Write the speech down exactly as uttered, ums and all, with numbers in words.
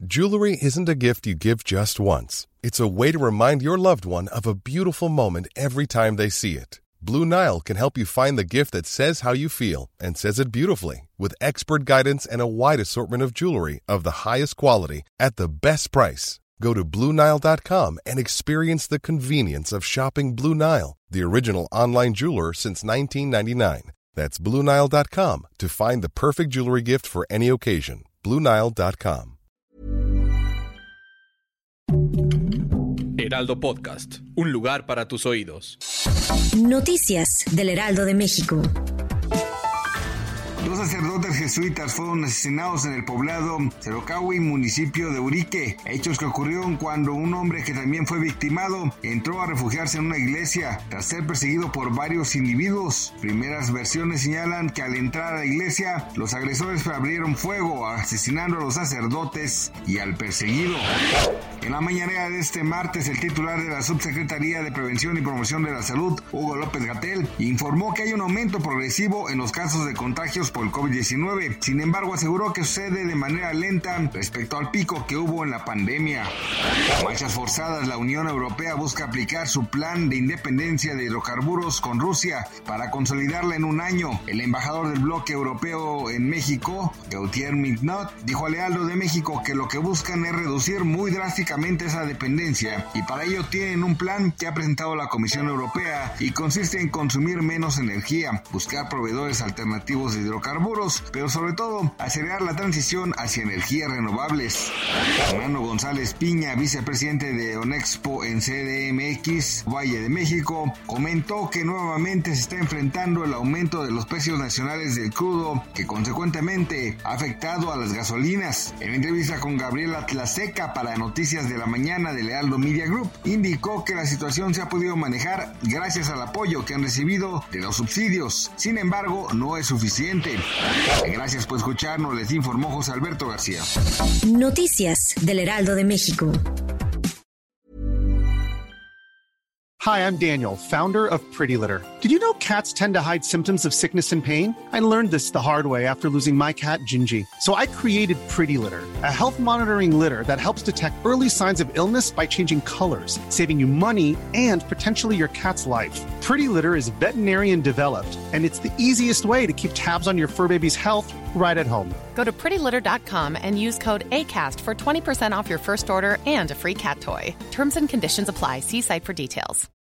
Jewelry isn't a gift you give just once. It's a way to remind your loved one of a beautiful moment every time they see it. Blue Nile can help you find the gift that says how you feel and says it beautifully, with expert guidance and a wide assortment of jewelry of the highest quality at the best price. Go to Blue Nile dot com and experience the convenience of shopping Blue Nile, the original online jeweler since nineteen ninety-nine. That's Blue Nile dot com to find the perfect jewelry gift for any occasion. Blue Nile dot com. Heraldo Podcast, un lugar para tus oídos. Noticias del Heraldo de México. Dos sacerdotes jesuitas fueron asesinados en el poblado Cerocahui, municipio de Urique, hechos que ocurrieron cuando un hombre que también fue victimado entró a refugiarse en una iglesia tras ser perseguido por varios individuos. Primeras versiones señalan que al entrar a la iglesia, los agresores abrieron fuego, asesinando a los sacerdotes y al perseguido. En la mañanera de este martes, el titular de la Subsecretaría de Prevención y Promoción de la Salud, Hugo López-Gatell, informó que hay un aumento progresivo en los casos de contagios por el covid diecinueve. Sin embargo, aseguró que sucede de manera lenta respecto al pico que hubo en la pandemia. A marchas forzadas, la Unión Europea busca aplicar su plan de independencia de hidrocarburos con Rusia para consolidarla en un año. El embajador del bloque europeo en México, Gautier Mignot, dijo al Heraldo de México que lo que buscan es reducir muy drásticamente esa dependencia y para ello tienen un plan que ha presentado la Comisión Europea y consiste en consumir menos energía, buscar proveedores alternativos de hidrocarburos, pero sobre todo acelerar la transición hacia energías renovables. Fernando González Piña, vicepresidente de ONEXPO en C D M X, Valle de México, comentó que nuevamente se está enfrentando el aumento de los precios nacionales del crudo, que consecuentemente ha afectado a las gasolinas. En entrevista con Gabriela Tlaseca para Noticias de la Mañana del Heraldo Media Group, indicó que la situación se ha podido manejar gracias al apoyo que han recibido de los subsidios. Sin embargo, no es suficiente. Gracias por escucharnos, les informó José Alberto García. Noticias del Heraldo de México. Hi, I'm Daniel, founder of Pretty Litter. Did you know cats tend to hide symptoms of sickness and pain? I learned this the hard way after losing my cat, Gingy. So I created Pretty Litter, a health monitoring litter that helps detect early signs of illness by changing colors, saving you money and potentially your cat's life. Pretty Litter is veterinarian developed, and it's the easiest way to keep tabs on your fur baby's health right at home. Go to pretty litter dot com and use code ACAST for twenty percent off your first order and a free cat toy. Terms and conditions apply. See site for details.